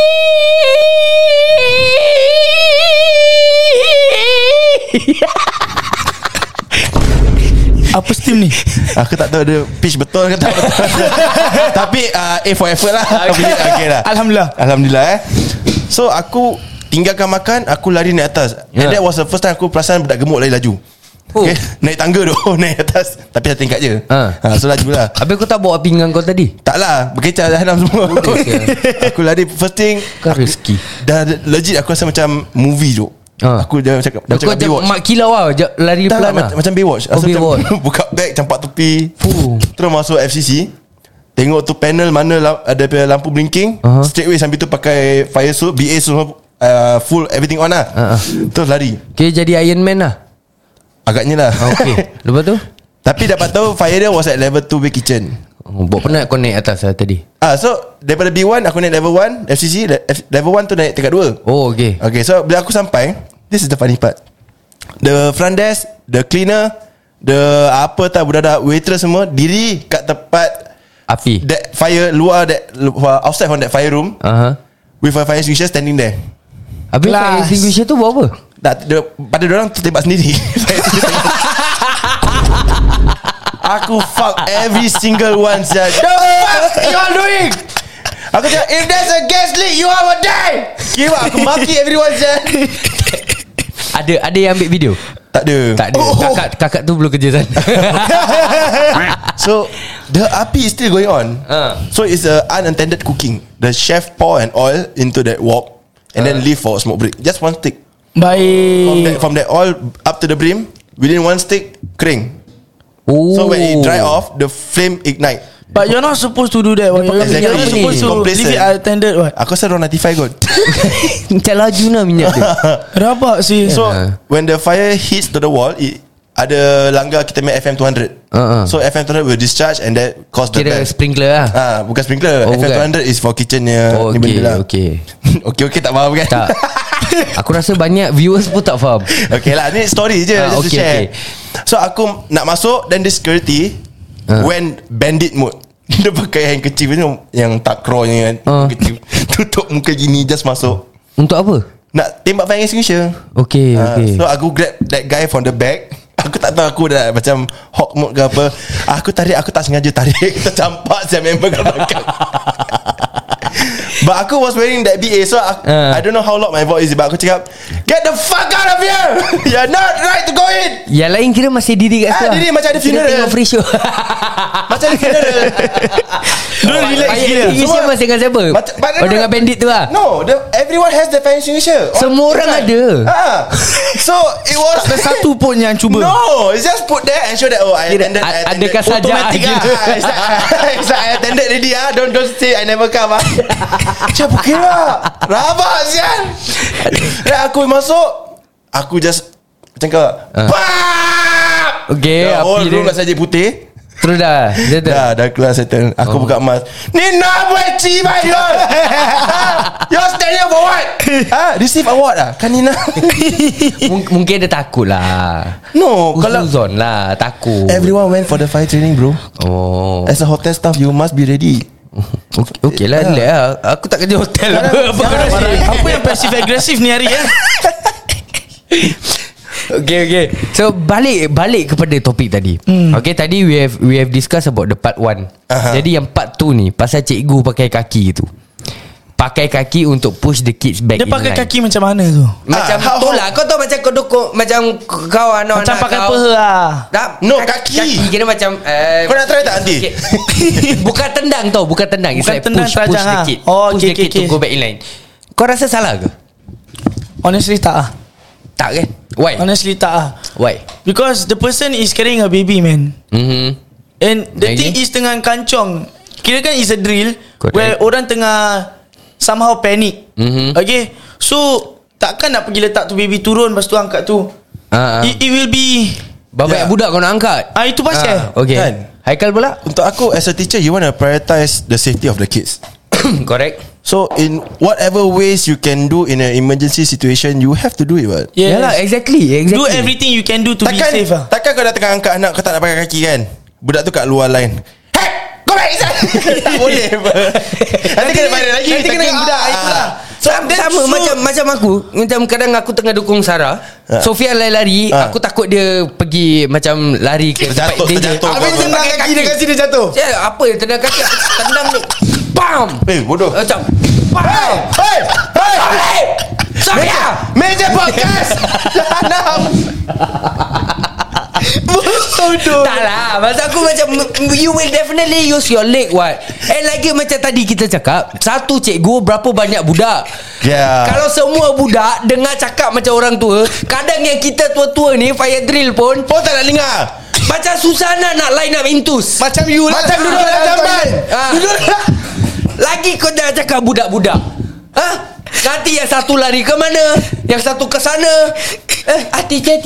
Apa steam ni? Aku tak tahu dia pitch betul ke tak. Tapi A for effort lah. Okay lah. Alhamdulillah. So aku tinggalkan makan, aku lari naik atas. And that was the first time aku perasan budak gemuk lari laju. Okay, naik tangga tu. Naik atas. Tapi satu tingkat je. So laju lah. Habis kau tak bawa pinggan kau tadi? Tak lah, berkecah dah hanam semua. Aku lari first thing. Kau rezeki. Dah legit aku rasa macam movie tu. Aku dah cakap Baywatch. Mak kilau lah, lari Tak pelan lah, lah. macam Baywatch. Baywatch. Buka bag, campak tepi, terus masuk FCC. Tengok tu panel mana ada lampu blinking. Straight away sambil tu pakai fire suit, BA semua full everything on lah. Terus lari. Okay, jadi Iron Man lah. Agaknya lah. Okay. Lepas tu? Tapi dapat tahu fire dia was at level 2 way kitchen. Buat penat kau naik atas lah tadi. So daripada B1 aku naik level 1 FCC. Level 1 tu naik tingkat 2. Oh, okay. Okay, so bila aku sampai, this is the funny part. The front desk, the cleaner, the apa tak budak-budak waitress semua diri kat tempat api. that fire luar, that outside from that fire room, with a fire extinguisher standing there. Habis fire extinguisher tu buat apa? Pada diorang tertembak sendiri. Aku fuck every single one. The fuck you all doing? Aku cakap, if there's a gas leak, you all will die. Kira aku maki everyone. Ada yang ambil video? Tak ada. Kakak tu belum kerja sana. So the api is still going on. So it's a unattended cooking. The chef pour an oil into that wok and then leave for smoke break. Just one stick. Baik. From that oil up to the brim, within one stick, kering. Oh. So when it dry off, the flame ignite. But you're not supposed to do that. You're not supposed to Complacent. leave it unattended. What? Aku rasa orang 95 kot. Macam laju lah minyak tu. Rabak sih. So when the fire hits to the wall, ada langgar kita make FM 200. So FM 200 will discharge and that cause the Kira bell. sprinkler lah. Bukan sprinkler. FM 200 is for kitchennya. Ni benda lah. Okay. Okay tak faham kan? Tak. Aku rasa banyak viewers pun tak faham. Okay lah, ni story je, just to share. So aku nak masuk, then the security went bandit mode. Dia pakai handkerchief ni yang takrornya kan, kecil, tutup muka gini, just masuk. Untuk apa? Nak tembak fire extinguisher. Okay. So aku grab that guy from the back. Aku tak tahu aku dah macam hawk mode ke apa. Aku tak sengaja tarik. Tercampak saya member kat belakang. But aku was wearing that BA. So I don't know how loud my voice is, but aku cakap, get the fuck out of here. You're not right to go in. Yang lain kira masih diri kat situ. Diri macam ada funeral. Tengok free show. Macam ada funeral. Don't relax gila. Extinguisher masih dengan siapa? Dengan bandit tu lah. No, everyone has the fire extinguisher. Semua orang ada. So it was Ada satu pun yang cuba. No, it's just put there and show that I attended. Adakah saja automatic It's like I attended already. Don't say I never come. Macam kira rabak sian. Dan aku masuk, aku just macam kau Okay, the whole api room dia saja putih. Terus dah settle. Dah keluar settle. Aku buka emas. Nina Bueci Bayon. You're standing for what? Receive award lah. Kan Nina. Mungkin dia takut lah. No, kalau Uzon lah, takut. everyone went for the fire training, bro. Oh. As a hotel staff, you must be ready. Okay lah, relax lah. Aku tak kerja hotel lah. Apa yang passive aggressive ni hari Okay. So balik kepada topik tadi. Okay, tadi we have discussed about the part 1. Jadi yang part 2 ni pasal cikgu pakai kaki tu. Pakai kaki untuk push the kids back. Dia pakai in line. kaki macam mana tu? Macam tu lah. Kau tahu macam kau dukung, macam kau anak-anak Macam pakai kau, peha lah. tak, No, kaki. kira macam Kau nak try tak nanti? okay. Bukan tendang tau. Bukan tendang. It's Bukan like tendang, push terajang the lah. kid. Oh, Push okay, the kid okay. to go back in line. Kau rasa salah ke? Honestly tak ah. Tak kan? Why? Honestly tak ah. Why? Because the person is carrying a baby, man. And the Lagi? thing is tengah kancong. Kira kan is a drill. Correct. Where orang tengah somehow panic. Okay. So takkan nak pergi letak tu baby turun, lepas tu angkat tu. It will be Bapak budak kau nak angkat. itu pasal. Okay Kan? Haikal pula. Untuk aku as a teacher, you want to prioritize the safety of the kids. Correct. So in whatever ways you can do in an emergency situation, you have to do it. What? Yes. Yalah, exactly. Do everything you can do to be safe lah. Takkan kau dah tengah angkat anak, kau tak nak pakai kaki kan? Budak tu kat luar line. Hey, go back inside. Tak boleh. Nanti kena bayar lagi. Nanti kena budak. Itulah. Sama macam aku. Macam kadang aku tengah dukung Sarah, Sofia lari-lari, aku takut dia pergi macam lari ke tempat danger. Terjatuh. Habis tendang kaki dia kasi dia jatuh. Apa yang tendang kaki? Tendang ni. Bam. Bodoh. Macam bam. Hey. Sofia. Meja podcast. Tak lah. Masa aku macam you will definitely use your leg what. And lagi macam tadi kita cakap, satu cikgu berapa banyak budak. Yeah. Kalau semua budak dengar cakap macam orang tua, kadang yang kita tua-tua ni fire drill pun tak nak dengar. macam susah nak line up intus. Macam you lah. Macam duduk dalam jamban. Lagi kau dah cakap budak-budak. Nanti yang satu lari ke mana, yang satu ke sana. Teacher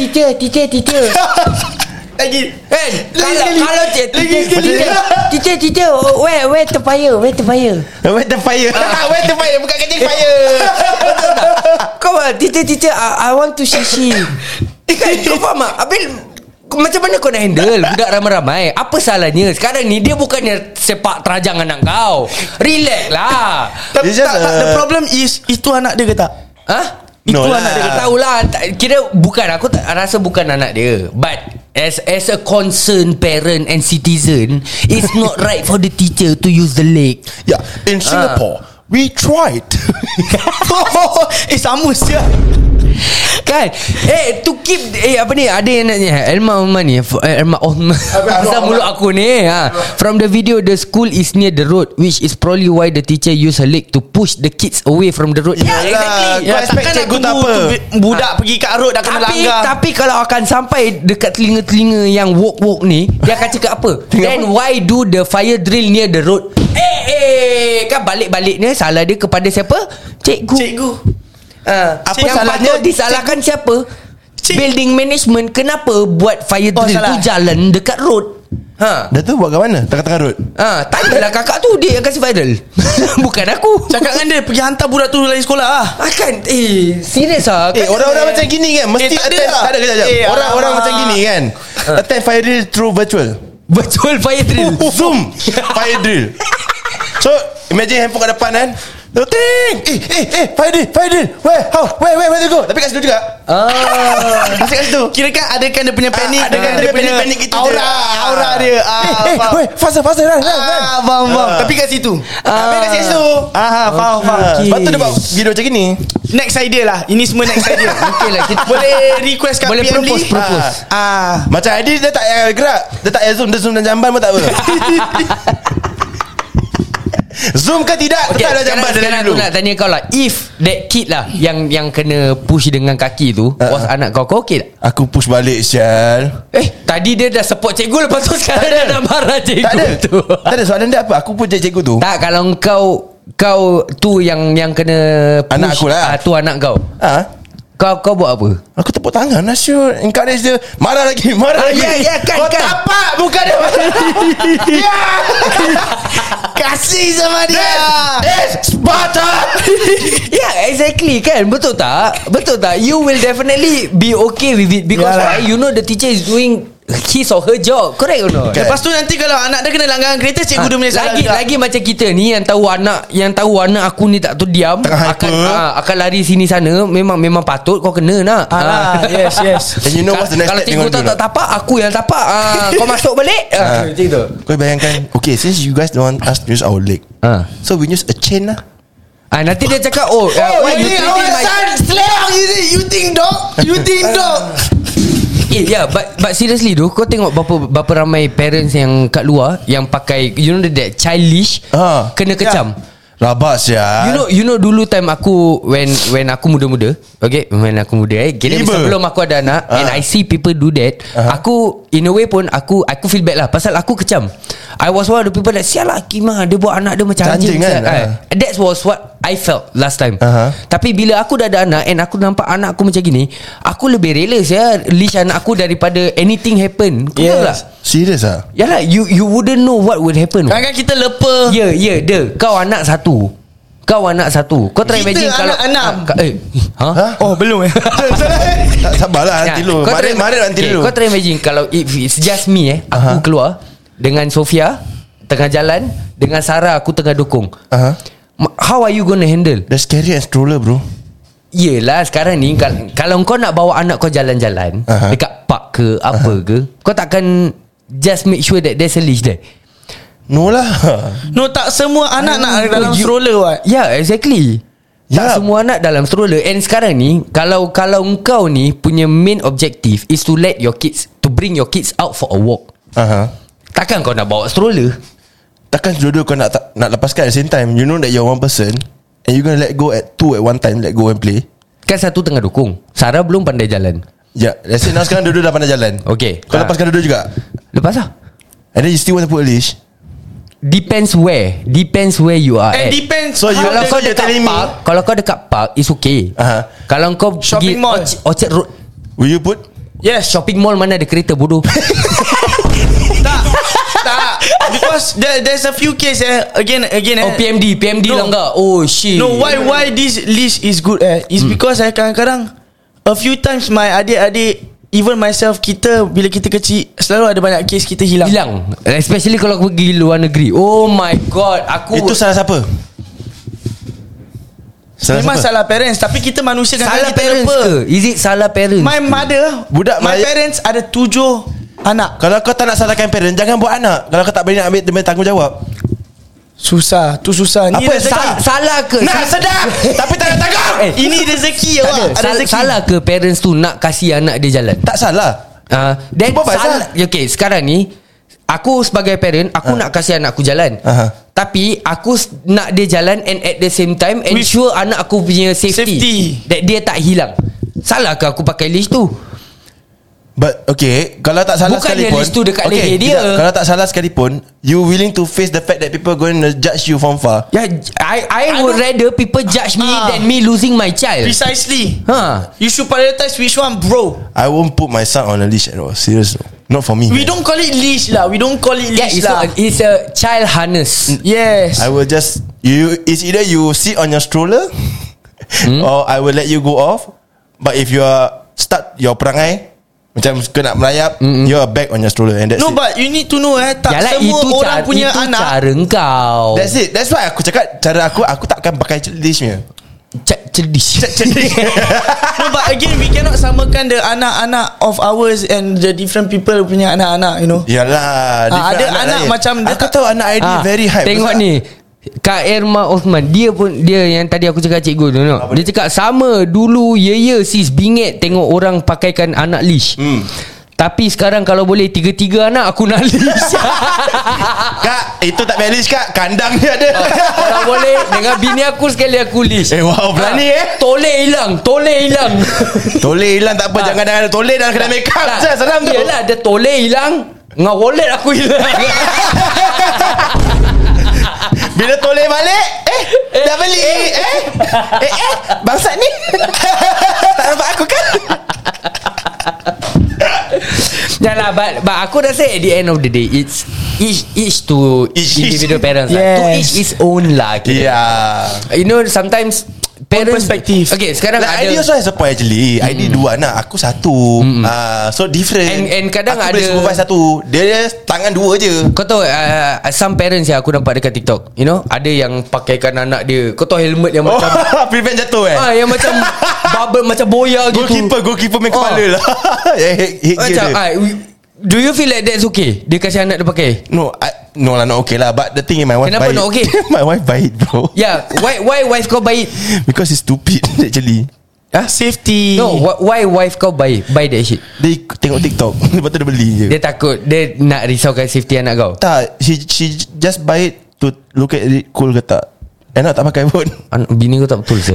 Lagi. kan? Kalau teacher where the fire Where the fire? Where the fire? Bukan kerja fire. Kau teacher I want to see. Kan kau faham tak? Habis macam mana kau nak handle budak ramai-ramai? Apa salahnya? Sekarang ni dia bukannya sepak terajang anak kau. Relax lah. The problem is itu anak dia ke tak? Itu No anak dia ke tak? Tahulah. Kira bukan, aku tak rasa bukan anak dia. But as a concerned parent and citizen, it's not right for the teacher to use the leg. Yeah, in Singapore, we tried. Sama siap. Kan to keep apa ni, ada yang nanya Elma Oman ni, Elma Oman pasal mulut aku ni from the video, the school is near the road, which is probably why the teacher use her leg to push the kids away from the road. Exactly. Kau expect Takkan nak cikgu tak tunggu apa? budak pergi kat road dah kena langgar. Tapi kalau akan sampai dekat telinga-telinga yang walk ni, dia akan cakap apa? Then why do the fire drill near the road? Kan balik-baliknya salah dia kepada siapa? Cikgu. Apa yang salahnya? patut disalahkan siapa? Building management. Kenapa buat fire drill tu jalan dekat road? Dah tu buat kat mana? Tengah-tengah road. Tanyalah kakak tu, dia yang kasi viral. Bukan aku. Cakap dengan dia pergi hantar budak tu lain sekolah lah. Akan serius lah. Orang-orang macam gini kan mesti tak ada attend. lah. Tak ada kejap. Orang-orang macam gini kan attend fire drill through virtual. Virtual fire drill. Zoom fire drill. So imagine handphone kat depan kan. Ting. Fire drill. Where to go? Tapi kat situ juga. Masih kat situ. Kira kan ada kan dia punya panik, ada kan dia panik gitu je. aura dia. Faster run. Faham. Tapi kat situ. Tapi kat situ. Faham. Sebab tu dia buat video macam gini. Next idea lah. Ini semua next idea. Okay lah, kita Boleh request kat boleh PM Lee. propose. Macam Adi dia tak payah gerak. Dia tak payah zoom. Dia zoom dan jamban pun tak apa. Zoom ke tidak? Okay, tetap ada jamban dari sekarang dulu. aku nak tanya kau lah, if that kid lah yang kena push dengan kaki tu was anak kau okay tak? Aku push balik Syal. Tadi dia dah support cikgu, lepas tu sekarang dia nak marah cikgu Tak ada tu. Tak ada soalan dia apa. Aku push cikgu tu. Tak, kalau kau tu yang kena push, Anak aku lah. tu anak kau. Kau buat apa? Aku tepuk tangan lah sure. Encourage dia. Marah lagi Ya, kan. Kau tapak bukan dia. Ya. Kasih sama dia. Sparta. Yeah, exactly kan. Betul tak? You will definitely be okay with it because you know the teacher is doing his or her job. Correct or not? Lepas tu nanti kalau anak dia kena langgaran kereta, cikgu dia punya salah juga. Lagi macam kita ni yang tahu anak aku ni tak tahu diam akan lari sini sana, memang patut kau kena nak. Yes. And you know what's the next kalau step cikgu tak tapak, aku yang tapak. Kau masuk balik. Macam tu. Kau bayangkan, okay, since you guys don't want us to use our leg, so we use a chain lah. Nanti dia cakap, why you treating my son Slang you think dog. Yeah, but seriously tu, kau tengok berapa ramai parents yang kat luar yang pakai, you know that childish, kena kecam. Rabak ya. You know dulu time aku when aku muda-muda, okay, when aku muda, kira sebelum aku ada anak, and I see people do that, aku in a way pun aku feel bad lah pasal aku kecam. I was one of the people that sialah Kima, dia buat anak dia macam anjing kan. That was what I felt last time. Tapi bila aku dah ada anak and aku nampak anak aku macam gini, aku lebih rela leash anak aku daripada anything happen. Betul tak? Serius ah? Yalah, you wouldn't know what would happen. Kadang-kadang kita lepa. Ya, kau anak satu. Kau try imagine kalau anak 6. Oh belum Sabarlah nanti dulu. Mari nanti dulu. Kau try imagine kalau if it's just me aku keluar dengan Sofia tengah jalan, dengan Sarah aku tengah dukung. How are you gonna handle? That's scary and stroller bro. Yelah sekarang ni kalau kau nak bawa anak kau jalan-jalan dekat park ke apa ke, kau takkan just make sure that there's a leash there. No lah. No, tak semua anak nak dalam stroller what. Yeah, exactly. Tak semua anak dalam stroller. And sekarang ni kalau kau ni punya main objective is to bring your kids out for a walk, takkan kau nak bawa stroller. Takkan dua-dua kau nak lepaskan at the same time. You know that you're one person and you're gonna let go at two at one time. Let go and play. Kan satu tengah dukung, Sarah belum pandai jalan. Ya, let's say now sekarang dua-dua dah pandai jalan. Okay, kau lepaskan dua-dua juga. Lepas lah. And then you still want to put a leash. Depends where you are at. Depends. So kalau kau dekat park, kalau kau dekat park is okay. Kalau kau shopping pergi mall, Orchard Road, will you put? Yes. Shopping mall mana ada kereta bodoh. Tak. Because there's a few case again. Oh PMD no. Lah enggak. Oh shit. No, why this list is good is because kadang-kadang a few times my adik-adik, even myself, bila kita kecil selalu ada banyak kes kita hilang. Especially kalau aku pergi luar negeri. Oh my god, itu salah siapa? Memang salah parents. Tapi kita manusia kan, salah kita parents lupa. ke? Is it salah parents? My mother, my parents ada 7 anak. Kalau kau tak nak salahkan parents, jangan buat anak. Kalau kau tak boleh nak ambil tanggungjawab, susah. Tu susah. Ni apa salah ke? Nak sedap tapi tak nak tanggung. Ini rezeki awak. Salah ke parents tu nak kasih anak dia jalan? Tak salah. Then salah. Okay, sekarang ni aku sebagai parent, aku nak kasih anak aku jalan. Tapi aku nak dia jalan and at the same time ensure anak aku punya safety. That dia tak hilang. Salah ke aku pakai leash tu? But okay, kalau tak salah bukan sekalipun, dia leash tu dekat leher dia. Kalau tak salah sekalipun, you willing to face the fact that people going to judge you from far. Yeah, I would rather people judge me than me losing my child. Precisely. You should prioritize which one, bro. I won't put my son on a leash at all. Serious, not for me. We don't call it leash lah. It's a child harness. Yes. I will just it's either you sit on your stroller or I will let you go off. But if you are start your perangai macam kau nak melayap, you are back on your stroller and that's it. But you need to know tak yalah, semua orang punya itu anak. Cara kau. That's it. That's why aku cakap cara aku takkan pakai leashnya. Cerdish. No, but again we cannot samakan the anak-anak of ours and the different people punya anak-anak, you know. Yalah, ada anak lain. macam aku tahu anak ID very hype. Tengok ni Kak Irma Osman, dia yang tadi aku cakap cikgu tu, dia cakap sama dulu sis bingit tengok orang pakaikan anak leash. Tapi sekarang kalau boleh 3 anak aku nak leash. Kak, itu tak valid kak, kandang dia ada. Kalau boleh dengan bini aku sekali aku leash. Wow, berani Toleh hilang. Toleh hilang tak apa, jangan ada toleh dalam kedai make up. Seram tu. Yalah, ada toleh hilang, ngah wallet aku hilang. Bila toleh balik, dah beli. Bangsat ni. Tak nampak aku. Janganlah, but aku rasa at the end of the day, it's each to individual parents lah. To each his own lah. You know, sometimes parents perspective. Okay, sekarang like ada ID also has a point actually. ID 2 anak, aku 1. So different. And kadang aku ada boleh supervise 1, dia tangan 2 je. Kau tahu some parents yang aku nampak dekat TikTok, you know, ada yang pakaikan anak dia, kau tahu helmet yang macam prevent jatuh yang macam bubble, macam boya gitu. Goalkeeper main kepala lah. Macam do you feel like that's okay? Dia kasih anak dia pakai? No lah, not okay lah. But the thing is, my wife Kenapa buy it. not okay? My wife buy it, bro. Yeah, why wife kau buy it? Because it's stupid actually. Safety. No, why wife kau buy that shit? Dia tengok TikTok, lepas tu dia beli je. Dia takut, dia nak risaukan safety anak kau. Tak, she just buy it to look at it cool ke tak. Enak tak pakai pun. Bini kau tak betul saya.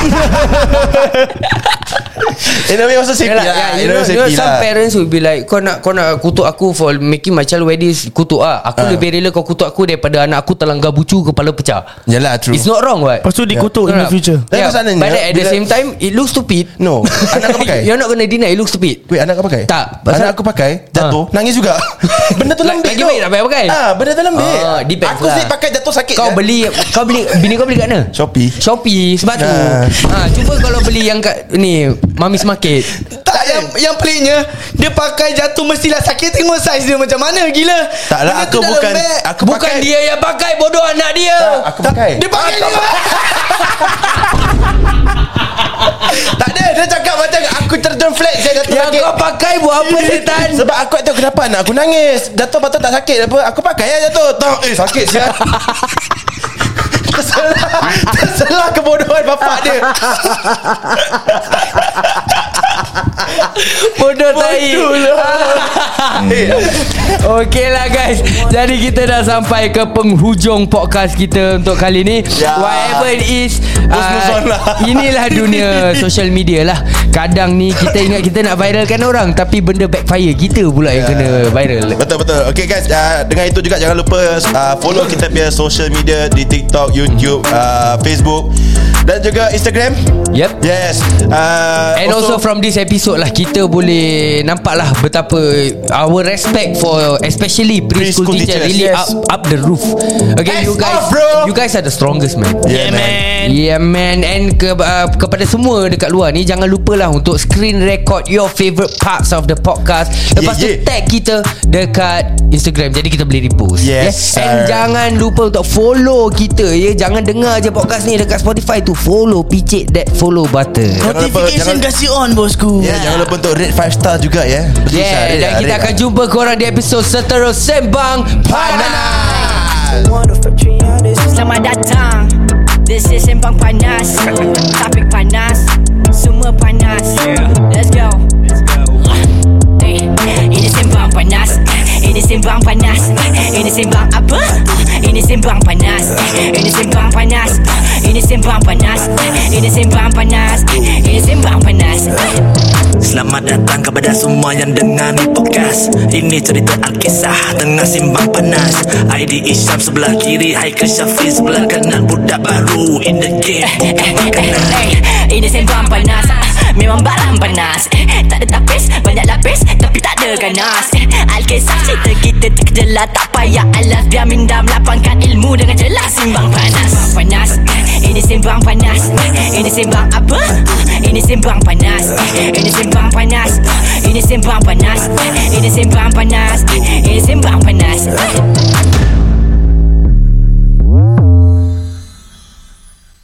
In a way also safety lah. You know, some parents will be like, Kau nak kutuk aku for making my child wear this. Kutuk aku lebih rela kau kutuk aku daripada anak aku terlanggar bucu, kepala pecah. Yalah, true. It's not wrong, what? Lepas tu dikutuk in the future. But at the same time, it looks stupid. No, anak kau pakai. You're not gonna deny it looks stupid. Wait, anak kau pakai? Tak, anak aku pakai, jatuh, nangis juga. Benda tu lembik. Lagi baik tak payah pakai. Benda tu lembik. Depends aku sendiri pakai jatuh sakit. Kau beli bini kau beli kat mana? Shopee. Sebab tu cuba kalau beli yang kat ni Mami's Market. Tak, yang peliknya, dia pakai jatuh mestilah sakit. Tengok saiz dia macam mana. Gila. Taklah, aku bukan Bukan dia yang pakai, bodoh, anak dia. Tak, aku pakai. Dia pakai dia. Tak ada. Dia cakap macam aku terjun flat, saya jatuh Yang sakit. kau pakai buat apa setan? Sebab aku tak tahu kenapa anak aku nangis. Jatuh patut tak sakit apa. Aku pakai ya jatuh. Sakit siap. Terselah kebodohan bapak dia. Bodoh tai. Okay lah guys, jadi kita dah sampai ke penghujung podcast kita untuk kali ni. Whatever it is, inilah dunia social media lah. Kadang ni kita ingat kita nak viralkan orang, tapi benda backfire, kita pula yang kena viral. Betul. Okay guys, dengan itu juga jangan lupa follow kita punya social media di TikTok, YouTube, Facebook dan juga Instagram. Yep. Yes. And also from this episode lah, kita boleh nampak lah betapa our respect for especially preschool teacher really up the roof. Okay, you guys are the strongest, man. Yeah man. And kepada semua dekat luar ni, jangan lupalah untuk screen record your favorite parts of the podcast. Lepas tu tag kita dekat Instagram, jadi kita boleh repost. And jangan lupa untuk follow kita ya. Jangan dengar je podcast ni dekat Spotify tu, follow, picit that follow button. Notification kasih on, bosku. Jangan lupa untuk rate 5 star juga ya. Dan kita akan jumpa korang di episod seterus Sembang Panas. Selamat datang. This is Sembang Panas. Topik panas, semua panas. Let's go. Ini Sembang Panas. Ini Sembang Panas. Ini Sembang apa? Ini Sembang Panas. Ini Sembang Panas. Ini Sembang Panas. Ini Sembang Panas. Ini Sembang Panas. Selamat datang kepada semua yang dengar ni podcast. Ini cerita Alkisah tengah simbang panas. ID Isyam sebelah kiri, Haikal Syafiq sebelah kanan. Budak baru in the game, bukan makanan. Ini Sembang Panas. Memang barang panas. Tak ada tapis, banyak lapis, tapi tak ada ganas. Alkisah cerita kita terkejelah, tak payah alas. Biar minda melapangkan ilmu dengan jelas. Simbang Panas. Panas. Ini Sembang Panas. Ini Sembang apa? Ini Sembang Panas. Ini Sembang Panas. Ini Sembang Panas. Ini Sembang Panas.